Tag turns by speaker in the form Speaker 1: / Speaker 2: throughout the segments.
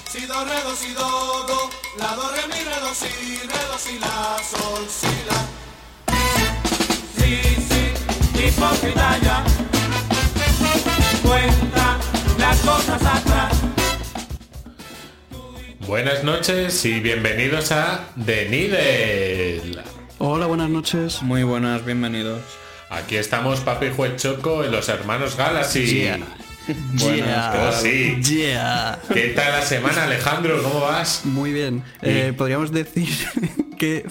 Speaker 1: si do, re, do, si, do, la, do, re, mi, re, do, si, la, sol, si, la. Sí, hipócrita ya, cuenta las cosas atrás.
Speaker 2: Buenas noches y bienvenidos a The Needle.
Speaker 3: Hola, buenas noches.
Speaker 4: Muy buenas, bienvenidos.
Speaker 2: Aquí estamos Papi Juez Choco y los hermanos Galaxy.
Speaker 3: Yeah.
Speaker 4: Buenas,
Speaker 2: Oh, sí.
Speaker 3: Yeah.
Speaker 2: ¿Qué tal la semana, Alejandro? ¿Cómo vas?
Speaker 3: Muy bien. Podríamos decir que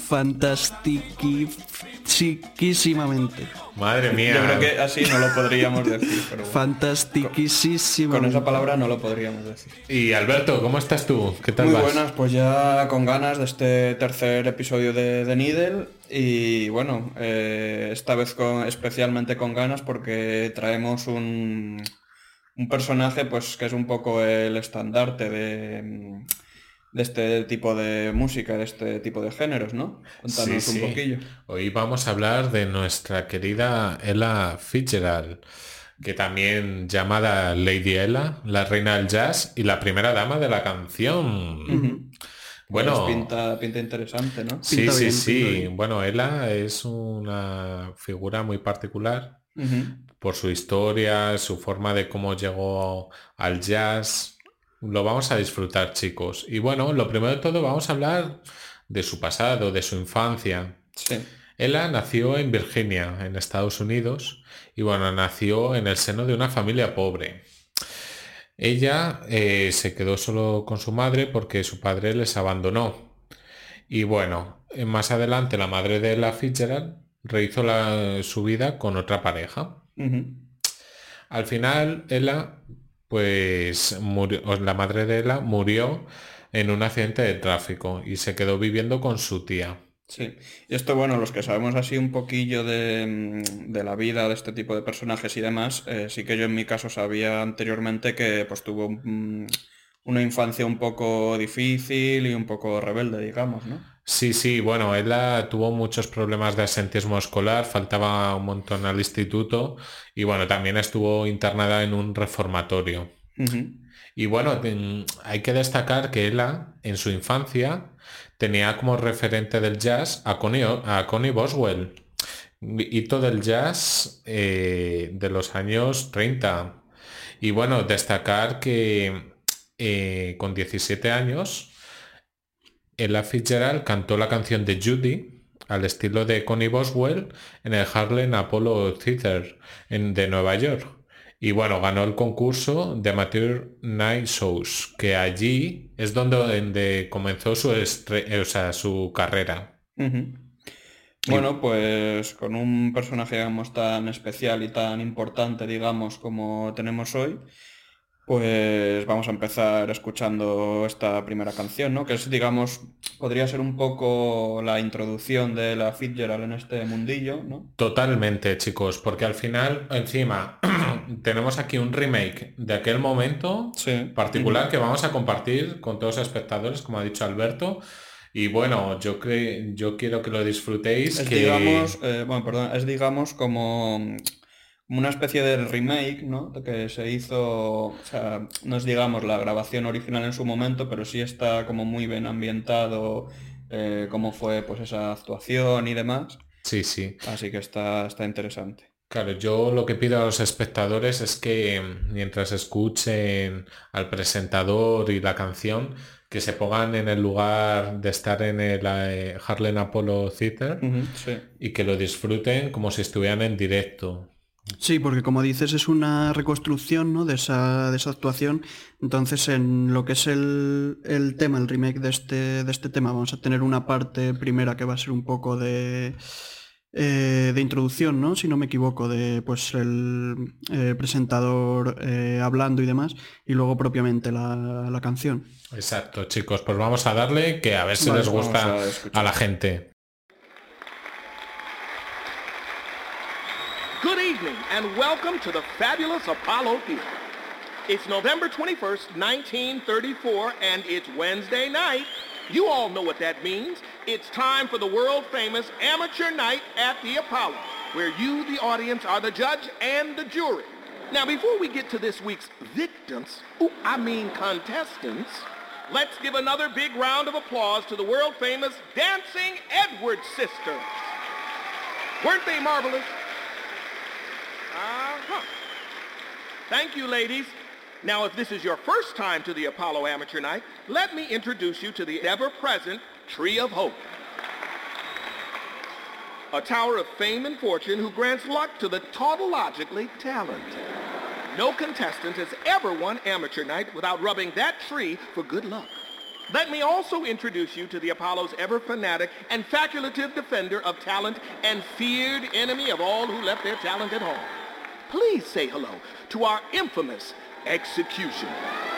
Speaker 3: fantastiquísimamente.
Speaker 2: Madre mía.
Speaker 4: Yo creo que así no lo podríamos decir, pero bueno,
Speaker 3: Fantastiquísimamente.
Speaker 4: con esa palabra no lo podríamos decir.
Speaker 2: Y Alberto, ¿cómo estás tú? ¿Qué tal
Speaker 4: Muy
Speaker 2: vas?
Speaker 4: buenas, pues ya con ganas de este tercer episodio de The Needle y bueno, esta vez especialmente con ganas porque traemos un personaje pues que es un poco el estandarte de este tipo de música, de este tipo de géneros, ¿no? Cuéntanos
Speaker 2: Sí.
Speaker 4: un poquillo.
Speaker 2: Hoy vamos a hablar de nuestra querida Ella Fitzgerald, que también llamada Lady Ella, la reina del jazz y la primera dama de la canción. Bueno,
Speaker 4: Pues pinta interesante, ¿no?
Speaker 2: sí,
Speaker 3: Pinta
Speaker 2: sí,
Speaker 3: bien,
Speaker 2: sí.
Speaker 3: pinta bien.
Speaker 2: Bueno, Ella es una figura muy particular
Speaker 4: Ujú.
Speaker 2: por su historia, su forma de cómo llegó al jazz. Lo vamos a disfrutar, chicos. Y bueno, lo primero de todo vamos a hablar de su pasado, de su infancia.
Speaker 4: Sí.
Speaker 2: Ella nació en Virginia, en Estados Unidos, y bueno, nació en el seno de una familia pobre. Ella se quedó solo con su madre porque su padre les abandonó. Y bueno, más adelante la madre de Ella Fitzgerald rehizo su vida con otra pareja.
Speaker 4: Ujú.
Speaker 2: Al final, Ella, pues murió, la madre de Ella murió en un accidente de tráfico y se quedó viviendo con su tía.
Speaker 4: Sí, y esto, bueno, los que sabemos así un poquillo de la vida de este tipo de personajes y demás, sí que yo en mi caso sabía anteriormente que pues tuvo una infancia un poco difícil y un poco rebelde, digamos, ¿no?
Speaker 2: Sí, bueno, ella tuvo muchos problemas de asentismo escolar, faltaba un montón al instituto y bueno, también estuvo internada en un reformatorio.
Speaker 4: Ujú.
Speaker 2: Y bueno, hay que destacar que ella en su infancia tenía como referente del jazz a Connie Boswell, hito del jazz de los años 30. Y bueno, destacar que con 17 años Ella Fitzgerald cantó la canción de Judy al estilo de Connie Boswell en el Harlem Apollo Theater de Nueva York. Y bueno, ganó el concurso de Amateur Night Shows, que allí es donde comenzó su carrera.
Speaker 4: Ujú. Bueno, pues con un personaje, digamos, tan especial y tan importante, digamos, como tenemos hoy, pues vamos a empezar escuchando esta primera canción, ¿no? Que es, digamos, podría ser un poco la introducción de la Fitzgerald en este mundillo, ¿no?
Speaker 2: Totalmente, chicos, porque al final, encima, tenemos aquí un remake de aquel momento
Speaker 4: Sí.
Speaker 2: particular
Speaker 4: Ujú.
Speaker 2: que vamos a compartir con todos los espectadores, como ha dicho Alberto. Y bueno, yo quiero que lo disfrutéis,
Speaker 4: Es,
Speaker 2: que
Speaker 4: digamos, bueno, perdón, es, digamos, como una especie de remake, ¿no? Que se hizo, o sea, no es, digamos, la grabación original en su momento, pero sí está como muy bien ambientado, cómo fue, pues, esa actuación y demás.
Speaker 2: sí.
Speaker 4: Así que está interesante.
Speaker 2: Claro, yo lo que pido a los espectadores es que mientras escuchen al presentador y la canción, que se pongan en el lugar de estar en el Harlem Apollo Theater
Speaker 4: Ujú, sí.
Speaker 2: y que lo disfruten como si estuvieran en directo.
Speaker 3: Sí, porque como dices es una reconstrucción, ¿no? de esa actuación. Entonces en lo que es el tema, el remake de este tema, vamos a tener una parte primera que va a ser un poco de introducción, ¿no? Si no me equivoco, de pues el presentador hablando y demás, y luego propiamente la canción.
Speaker 2: Exacto, chicos, pues vamos a darle que a ver si
Speaker 3: Vale,
Speaker 2: les
Speaker 4: Vamos
Speaker 2: gusta
Speaker 4: a escuchar.
Speaker 2: a la gente.
Speaker 5: Good evening and welcome to the fabulous Apollo Theater. It's November 21st, 1934, and it's Wednesday night. You all know what that means. It's time for the world-famous amateur night at the Apollo, where you, the audience, are the judge and the jury. Now, before we get to this week's victims, contestants, Let's give another big round of applause to the world-famous Dancing Edwards sisters. Weren't they marvelous? Uh-huh. Thank you, ladies. Now, if this is your first time to the Apollo Amateur Night, let me introduce you to the ever-present Tree of Hope. A tower of fame and fortune who grants luck to the tautologically talented. No contestant has ever won Amateur Night without rubbing that tree for good luck. Let me also introduce you to the Apollo's ever-fanatic and facultative defender of talent and feared enemy of all who left their talent at home. Please say hello to our infamous Executioner.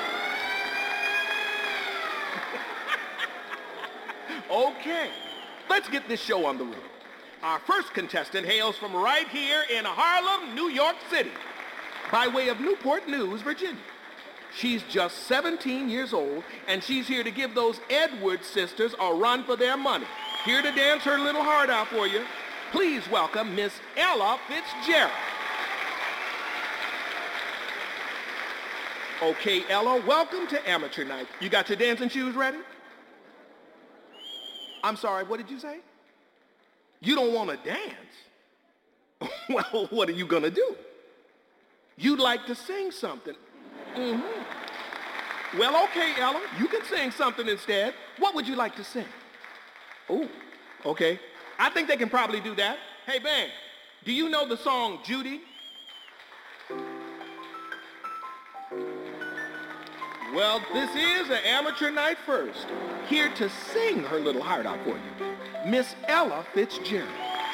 Speaker 5: Okay, let's get this show on the road. Our first contestant hails from right here in Harlem, New York City, by way of Newport News, Virginia. She's just 17 years old, and she's here to give those Edwards sisters a run for their money. Here to dance her little heart out for you. Please welcome Miss Ella Fitzgerald. Okay, Ella, welcome to Amateur Night. You got your dancing shoes ready? I'm sorry, what did you say? You don't want to dance? Well, what are you going to do? You'd like to sing something. Mm-hmm. Well, okay, Ella, you can sing something instead. What would you like to sing? Oh, okay. I think they can probably do that. Hey, band, do you know the song Judy? Well, this is an Amateur Night first. Here to sing her little heart out for you, Miss Ella Fitzgerald.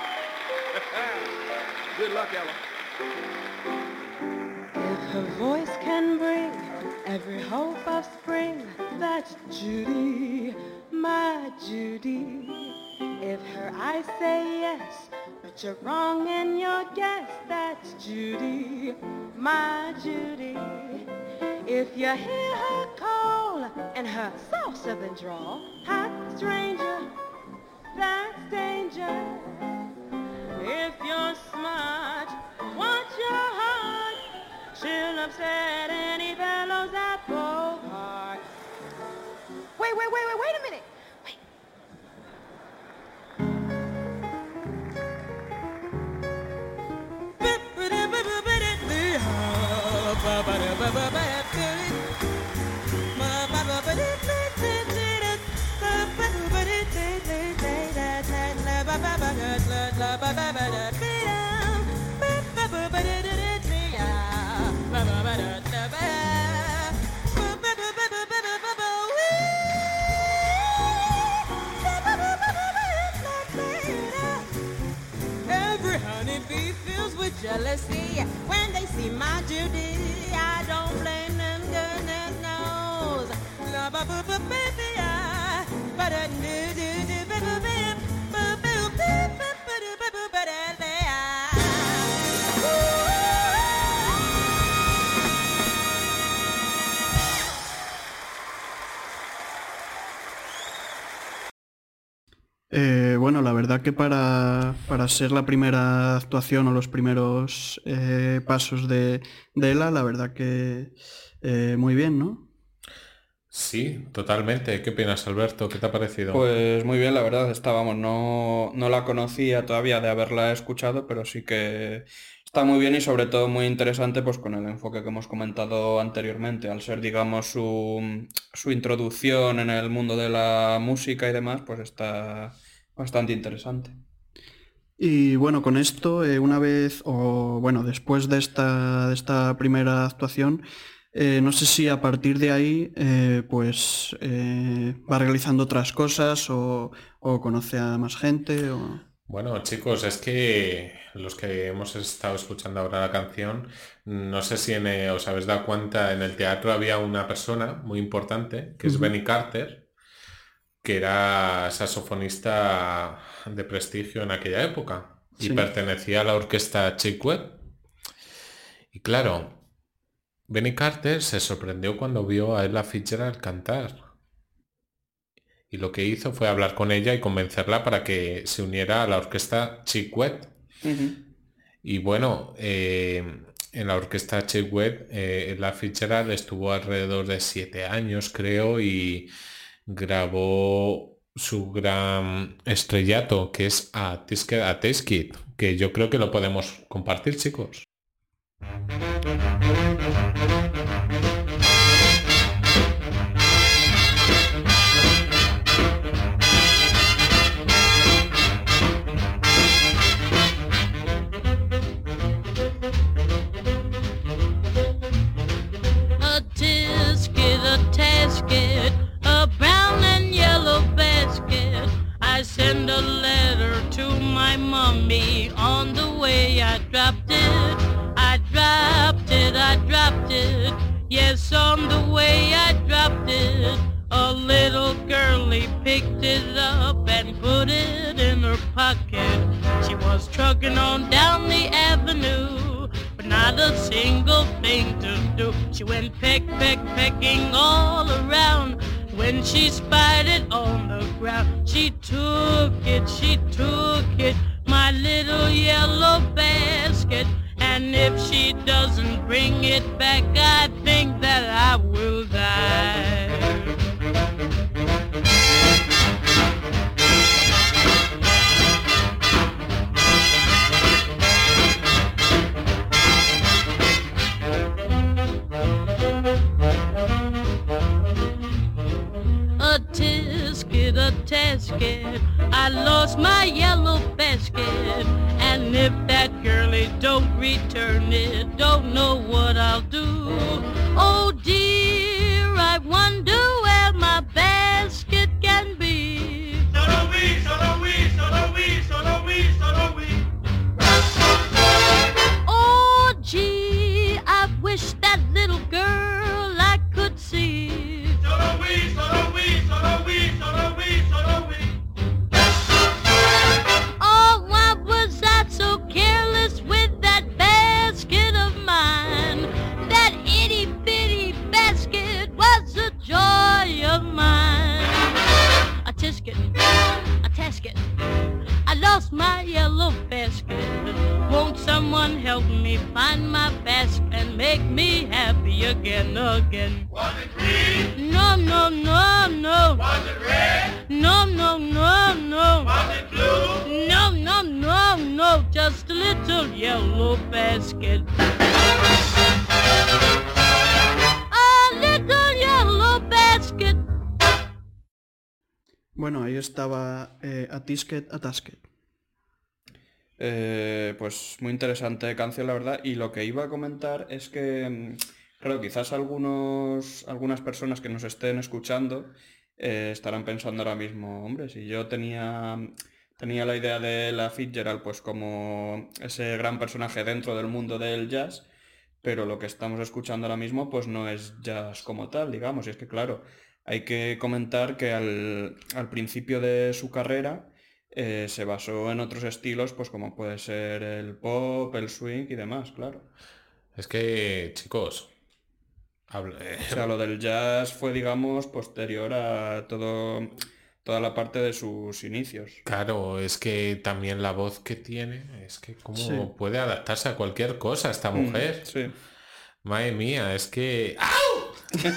Speaker 5: Good luck, Ella.
Speaker 6: If her voice can bring every hope of spring, that's Judy, my Judy. If her eyes say yes, but you're wrong in your guess, that's Judy, my Judy. If you hear her call and her soft southern drawl, hot stranger, that's danger. If you're smart, watch your heart, she'll upset any fellow's apple heart. Wait a minute.
Speaker 7: Every honeybee fills with jealousy when they see my Judy. I don't blame them, goodness knows.
Speaker 3: Bueno, la verdad que para ser la primera actuación o los primeros pasos de Ella, la verdad que muy bien, ¿no?
Speaker 2: Sí, totalmente. ¿Qué opinas, Alberto? ¿Qué te ha parecido?
Speaker 4: Pues muy bien, la verdad, no la conocía todavía de haberla escuchado, pero sí que está muy bien y sobre todo muy interesante pues con el enfoque que hemos comentado anteriormente, al ser digamos su introducción en el mundo de la música y demás, pues está bastante interesante.
Speaker 3: Y bueno, con esto, una vez, o bueno, después de esta primera actuación, no sé si a partir de ahí va realizando otras cosas o conoce a más gente o...
Speaker 2: Bueno, chicos, es que los que hemos estado escuchando ahora la canción, no sé si os habéis dado cuenta, en el teatro había una persona muy importante, que es Benny Carter, que era saxofonista de prestigio en aquella época y pertenecía a la orquesta Chick Webb. Y claro, Benny Carter se sorprendió cuando vio a Ella Fitzgerald cantar. Y lo que hizo fue hablar con ella y convencerla para que se uniera a la orquesta Chick Webb. Y bueno, en la orquesta Chick Webb, la Fitzgerald estuvo alrededor de 7 años, creo, y grabó su gran estrellato, que es A Taste It, que yo creo que lo podemos compartir, chicos.
Speaker 8: A brown and yellow basket. I send a letter to my mommy. On the way I dropped it. I dropped it, I dropped it. Yes, on the way I dropped it. A little girlie picked it up and put it in her pocket. She was trucking on down the avenue, but not a single thing to do. She went pecking all around. When she spied it on the ground, she took it, my little yellow basket. And if she doesn't bring it back, I think that I will die. A tasket, I lost my yellow basket. And if that girlie don't return it, don't know what I'll do. Oh dear, I wonder where my basket can be.
Speaker 1: Solo we, solo we, solo we, solo we, solo we.
Speaker 8: Oh gee, I wish that little girl I could see.
Speaker 1: Solo we, solo we, solo we, solo we, solo we.
Speaker 8: Oh, why was I so careless with that basket of mine? That itty bitty basket was the joy of mine. A tisket, I lost my yellow basket. Won't someone help me find my basket and make me happy again?
Speaker 1: Was it green?
Speaker 8: No, no, no, no.
Speaker 1: Was it red?
Speaker 8: No, no, no, no.
Speaker 1: Was it blue?
Speaker 8: No, no, no, no. Just a little yellow basket. A little yellow basket.
Speaker 3: Bueno, ahí estaba A Tisket, A Tasket.
Speaker 4: Pues muy interesante canción, la verdad. Y lo que iba a comentar es que, claro, quizás algunas personas que nos estén escuchando estarán pensando ahora mismo, hombre, si yo tenía la idea de la Fitzgerald pues como ese gran personaje dentro del mundo del jazz, pero lo que estamos escuchando ahora mismo pues no es jazz como tal, digamos. Y es que, claro, hay que comentar que al principio de su carrera se basó en otros estilos, pues como puede ser el pop, el swing y demás, claro.
Speaker 2: Es que, chicos,
Speaker 4: O sea, lo del jazz fue, digamos, posterior a toda la parte de sus inicios.
Speaker 2: claro, es que también la voz que tiene, es que cómo
Speaker 3: Sí.
Speaker 2: puede adaptarse a cualquier cosa esta mujer.
Speaker 4: Sí.
Speaker 2: Madre mía, es que... ¡Au!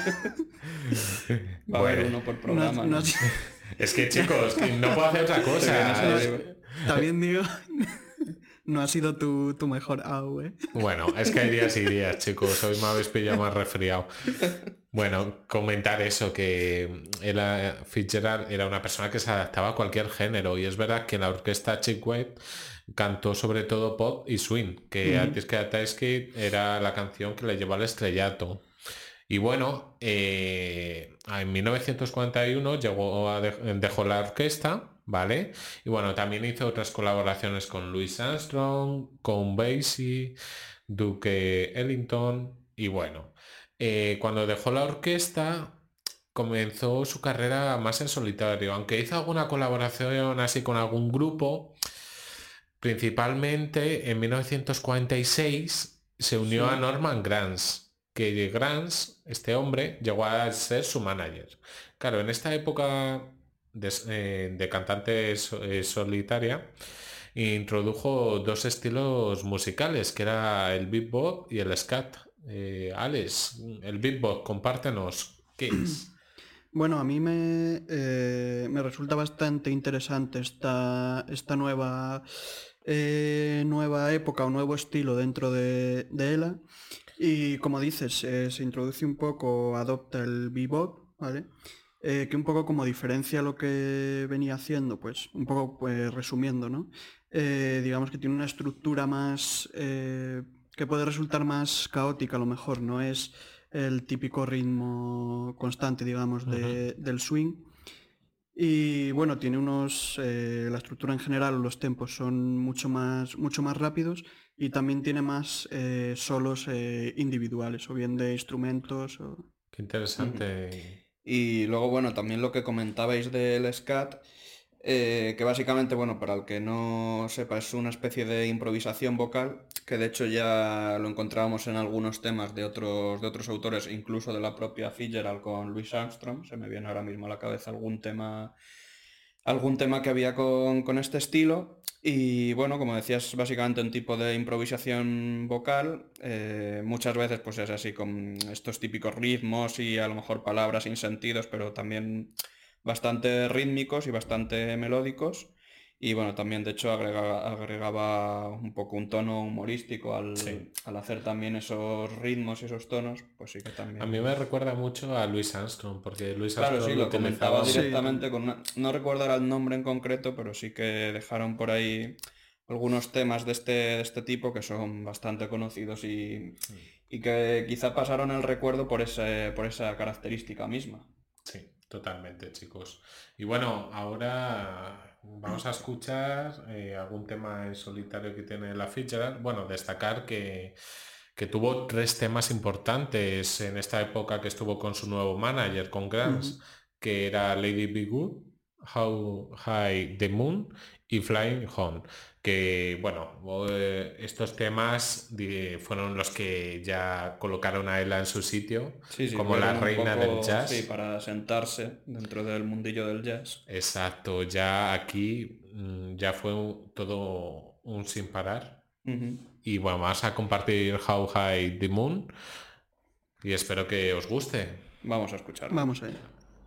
Speaker 4: Va a haber
Speaker 2: Bueno,
Speaker 4: uno por programa, ¿no?
Speaker 2: es que, chicos, que no puedo hacer otra
Speaker 4: Se viene
Speaker 2: cosa.
Speaker 4: ese libro.
Speaker 3: También digo, no ha sido tu mejor AU, ¿eh?
Speaker 2: Bueno, es que hay días y días, chicos. Hoy me habéis pillado más resfriado. Bueno, comentar eso, que Fitzgerald era una persona que se adaptaba a cualquier género. Y es verdad que la orquesta Chick Webb cantó sobre todo pop y swing, que antes que Tasket era la canción que le llevó al estrellato. Y bueno, en 1941 dejó la orquesta, ¿vale? Y bueno, también hizo otras colaboraciones con Louis Armstrong, con Basie, Duke Ellington. Y bueno, cuando dejó la orquesta comenzó su carrera más en solitario, aunque hizo alguna colaboración así con algún grupo. Principalmente en 1946 se unió a Norman Granz, que Granz, este hombre, llegó a ser su manager. Claro, en esta época de cantante solitaria, introdujo dos estilos musicales, que era el bebop y el scat. Alex, el bebop, compártenos, ¿qué es?
Speaker 3: Bueno, a mí me resulta bastante interesante esta nueva época o nuevo estilo dentro de ELA. Y como dices, se introduce un poco, adopta el bebop, ¿vale? Que un poco como diferencia lo que venía haciendo, pues un poco pues, resumiendo, ¿no? Digamos que tiene una estructura más que puede resultar más caótica a lo mejor, no es el típico ritmo constante, digamos, del swing. Y bueno, tiene la estructura en general, los tempos son mucho más rápidos y también tiene más solos individuales, o bien de instrumentos.
Speaker 2: Qué interesante.
Speaker 4: Y luego, bueno, también lo que comentabais del scat, que básicamente, bueno, para el que no sepa, es una especie de improvisación vocal, que de hecho ya lo encontrábamos en algunos temas de otros autores, incluso de la propia Fitzgerald con Louis Armstrong. Se me viene ahora mismo a la cabeza algún tema que había con este estilo. Y bueno, como decías, básicamente un tipo de improvisación vocal, muchas veces pues es así con estos típicos ritmos y a lo mejor palabras sin sentidos, pero también bastante rítmicos y bastante melódicos. Y bueno, también de hecho agregaba un poco un tono humorístico al hacer también esos ritmos y esos tonos, pues sí que también...
Speaker 2: A mí me recuerda mucho a Louis Armstrong, porque Louis
Speaker 4: Claro,
Speaker 2: Armstrong
Speaker 4: sí, lo comentaba
Speaker 2: utilizaba...
Speaker 4: directamente no recuerdo ahora el nombre en concreto, pero sí que dejaron por ahí algunos temas de este tipo que son bastante conocidos y que quizá pasaron el recuerdo por esa característica misma.
Speaker 2: Sí, totalmente, chicos. Y bueno, ahora vamos a escuchar algún tema en solitario que tiene la Fitzgerald. Bueno, destacar que tuvo 3 temas importantes en esta época que estuvo con su nuevo manager, con Grants, que era Lady Be Good, How High the Moon y Flying Home, que bueno, estos temas fueron los que ya colocaron a Ella en su sitio como la reina del jazz.
Speaker 4: Sí, para sentarse dentro del mundillo del jazz.
Speaker 2: Exacto, ya aquí ya fue todo un sin parar. Y bueno, vamos a compartir How High the Moon y espero que os guste.
Speaker 4: Vamos a escucharlo.
Speaker 3: Vamos allá.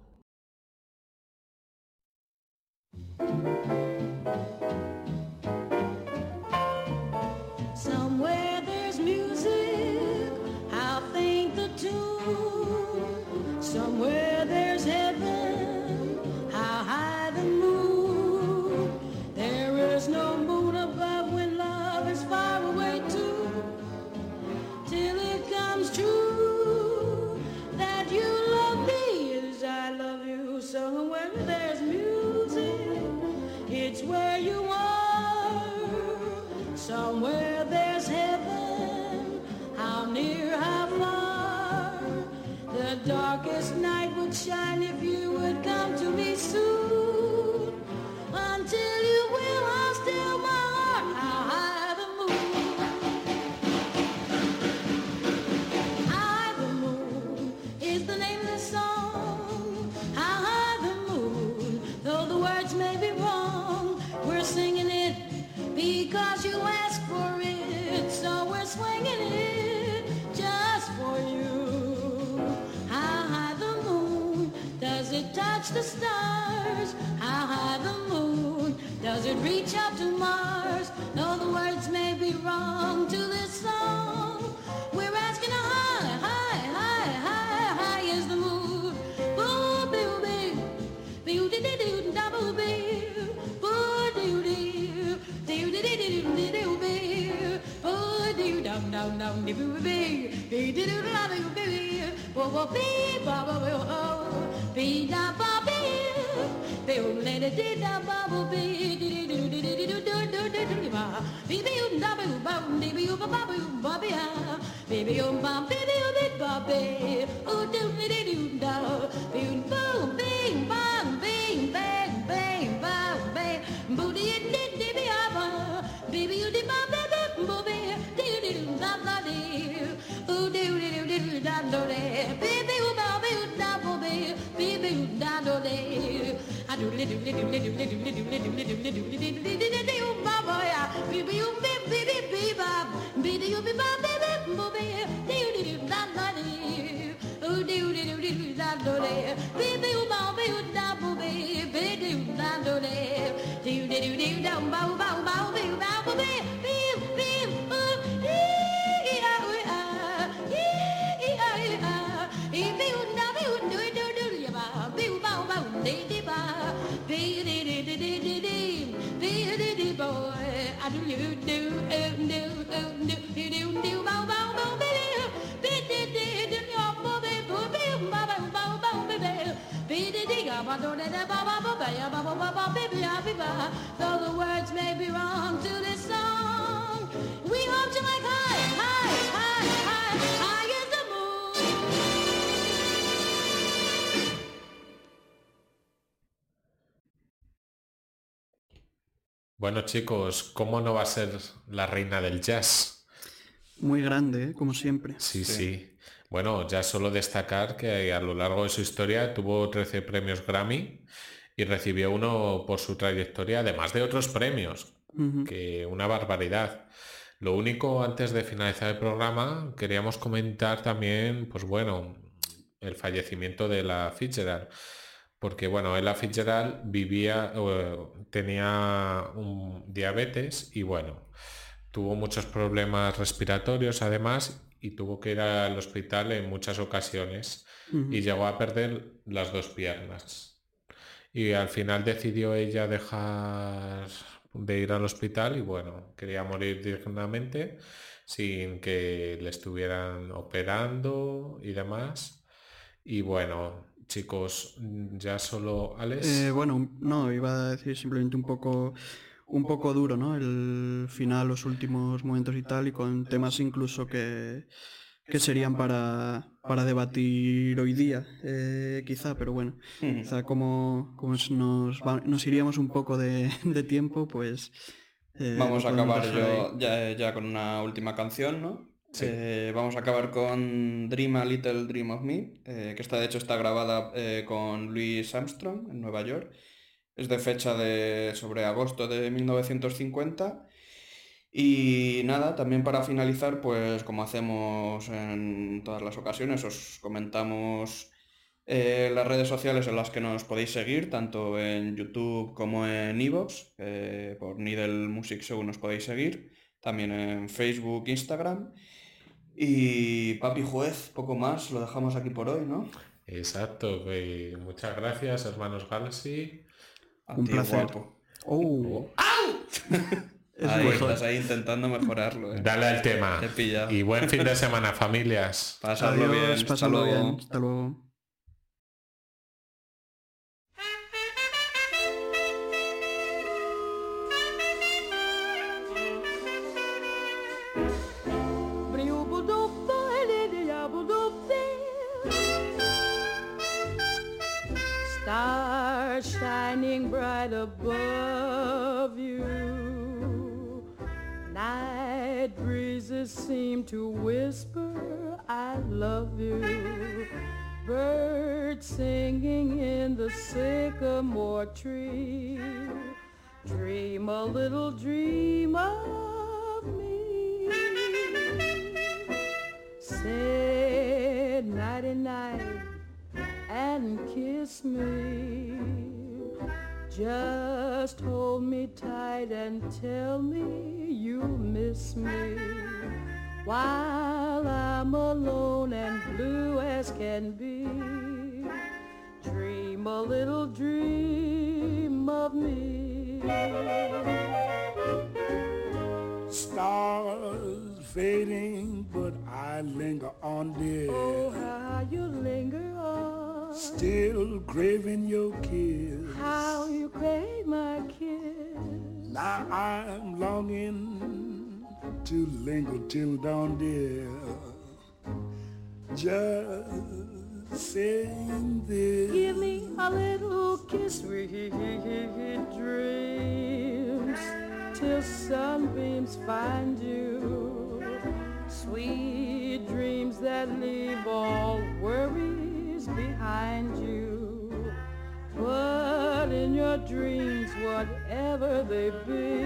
Speaker 7: Somewhere there's music, I'll think the tune. Somewhere there's heaven, how high the moon. There is no moon above when love is far away too. Till it comes true that you love me as I love you. Somewhere there's music, it's where you are. Somewhere there's heaven, how near, how far. The darkest night would shine if you would come to me soon. Until you will, I'll still my heart, how high the moon. High the moon is the name of the song. How high the moon, though the words may be wrong, we're singing it because you asked for it, so we're swinging it just for you. How high the moon, does it touch the stars? How high the moon, does it reach up to Mars? Though the words may be wrong to this song, we're asking how high, high, high, high, high is the moon. Boo, boo, boo, boo, dee, dee, doo, double boo, boo, doo, doo, doo, dee, dee, doo, dee, doo, boo, boo, doo, dum, dum, dum, dee, boo, boo, dee, dee, doo, da, boo, boo, boo, boo, bee, ba, ba, boo, oh, bee, da, ba, bee, boo, la, da, dee, da, ba, boo, bee, dee, dee, doo, dee, dee, doo, doo, doo, doo, doo, ba, bee, bee, da, boo, ba, dee, bee, ba, ba, boo, ba, bee, ah, bee, bee, ba, bee, bee, ba, bee, oh, doo, dee, dee, doo, da, boo, boom, bing, bang, bing, bang, bang, bang, bang, boo, dee, dee, dee, bee, ah, ba, bee, bee, dee, ba, bee, bee, boo, bee, dee, dee, doo, da, da, dee, oh, doo, dee, doo, dee, doo, da, do, dee, bee, bee, ba, bee, da, boo, bee, bee, bee, da, do, dee, I do, dee, doo, dee, doo, dee, doo, dee, doo, dee, doo, dee, doo, dee, doo, dee, doo, dee, doo, ba, ba, Though the words may be wrong to this song, we hope you like high, high, high, high, high as the moon.
Speaker 2: Bueno, chicos, ¿cómo no va a ser la reina del jazz?
Speaker 3: Muy grande, ¿eh? Como siempre.
Speaker 2: Sí. Bueno, ya solo destacar que a lo largo de su historia tuvo 13 premios Grammy y recibió uno por su trayectoria, además de otros premios, que una barbaridad. Lo único, antes de finalizar el programa, queríamos comentar también, pues bueno, el fallecimiento de Ella Fitzgerald, porque bueno, Ella Fitzgerald tenía un diabetes y bueno, tuvo muchos problemas respiratorios además y tuvo que ir al hospital en muchas ocasiones y llegó a perder las 2 piernas. Y al final decidió ella dejar de ir al hospital y bueno, quería morir dignamente sin que le estuvieran operando y demás. Y bueno, chicos, ya solo Alex.
Speaker 3: Bueno, no, iba a decir simplemente un poco duro, ¿no? El final, los últimos momentos y tal, y con temas incluso que serían para debatir hoy día, quizá, pero bueno, quizá como nos iríamos un poco de tiempo, pues...
Speaker 4: vamos a
Speaker 3: podemos
Speaker 4: acabar
Speaker 3: dejar
Speaker 4: ya con una última canción, ¿no?
Speaker 2: Sí.
Speaker 4: Vamos a acabar con Dream a Little Dream of Me, que de hecho está grabada con Louis Armstrong en Nueva York. Es de fecha sobre agosto de 1950. Y nada, también para finalizar, pues como hacemos en todas las ocasiones, os comentamos las redes sociales en las que nos podéis seguir, tanto en YouTube como en iVoox, por Needle Music Show nos podéis seguir, también en Facebook, Instagram. Y papi juez, poco más, lo dejamos aquí por hoy, ¿no?
Speaker 2: Exacto, muchas gracias, hermanos Galaxy.
Speaker 4: A
Speaker 3: Un
Speaker 4: ti,
Speaker 3: placer.
Speaker 4: guapo.
Speaker 3: Es mejor.
Speaker 4: Estás ahí intentando mejorarlo,
Speaker 2: Dale al tema.
Speaker 4: Te he pillado.
Speaker 2: Y buen fin de semana, familias.
Speaker 4: Pasadlo
Speaker 3: Adiós,
Speaker 4: bien, hasta
Speaker 3: pasadlo
Speaker 4: luego.
Speaker 3: bien. Hasta luego.
Speaker 6: Stars shining bright above you. Night breezes seem to whisper, I love you. Birds singing in the sycamore tree. Dream a little dream of me. Say nighty-night and kiss me. Just hold me tight and tell me you miss me. While I'm alone and blue as can be, dream a little dream of me.
Speaker 9: Stars fading, but I linger on, dear.
Speaker 6: Oh, how you linger on.
Speaker 9: Still craving your kiss.
Speaker 6: How you crave my kiss.
Speaker 9: Now I'm longing to linger till dawn, dear. Just saying this.
Speaker 6: Give me a little kiss, sweet dreams, till sunbeams find you. Sweet dreams that leave all worries behind you. But in your dreams, whatever they be,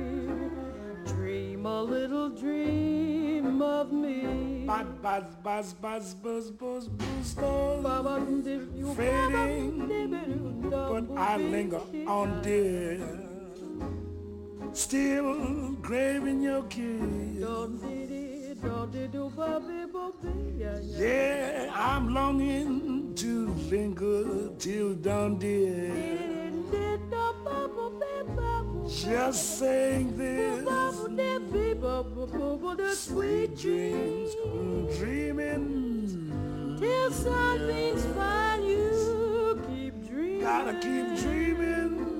Speaker 6: dream a little dream of me.
Speaker 9: Buzz, buzz, buzz, buzz, buzz, buzz, stars fading, but I linger on, dear. still craving your kiss. Yeah, I'm longing to linger till dawn, dear. Just saying this, sweet dreams, dreaming
Speaker 6: till something's fine, you keep dreaming.
Speaker 9: Gotta keep dreaming.